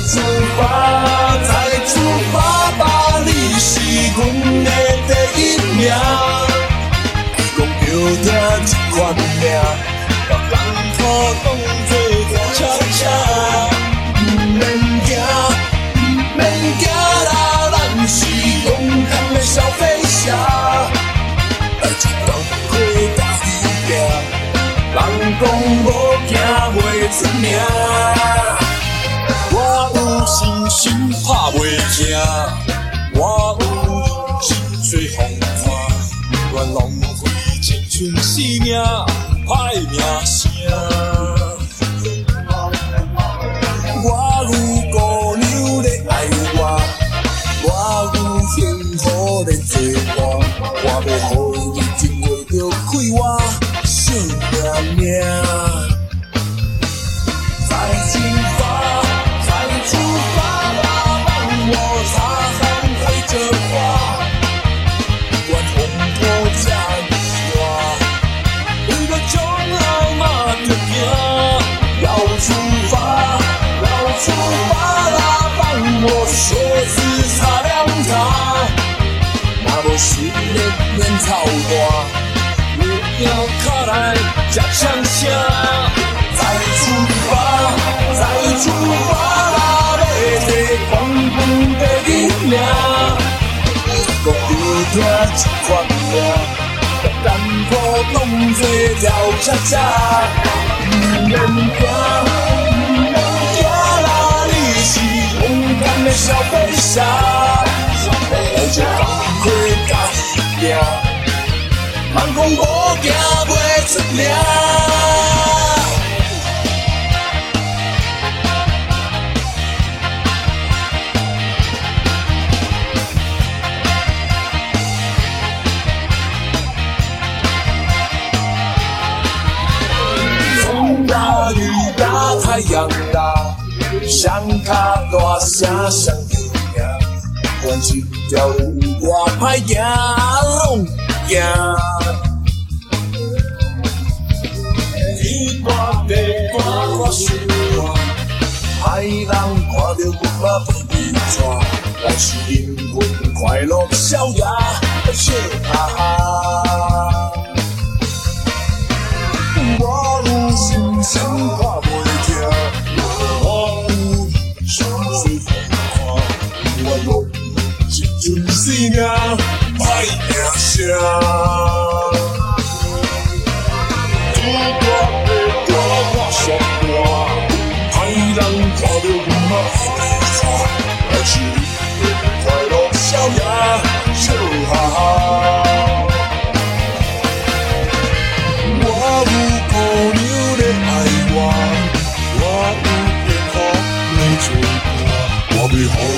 出发，再出发吧，你是阮的第一名。讲着听这款命，别人可当作大车车。不免惊，不免惊啦，咱是勇敢的小飞侠。来一天可甲伊拼，人讲无惊袂出名。我有信心打袂惊，我有心做风帆，愿浪费青春生命，歹名声。我有姑娘在爱我，我有幸福在做我，我要予你真话着开我小命命。再出发，再出发吧，让我擦汗陪着花。愿风波这么大，为了将来嘛着行。要出发，要出发啦，让我鞋子擦亮它。若无训练免操大，我要脚来吃枪声。再出发，再出发啦，要摕冠军第一名。讲着听这款命，别艰苦当作跳恰恰。不免惊，不免惊啦，你是勇敢的小飞侠。来一工课甲伊拼，人讲无惊袂出名。雨大，太阳大，双脚大声上着名，管一条路我歹行，拢行。天大地大，我想大，歹人看着阮嘛被伊抓，咱是因阮快乐笑呀，笑哈哈。我有信心打袂停，我有心做风帆，我用青春生命歹名声。天大地大我上大，歹人看着阮嘛被抓，咱是因快乐笑呀，笑哈哈。姑娘在爱我，我有幸福在做伴，我要予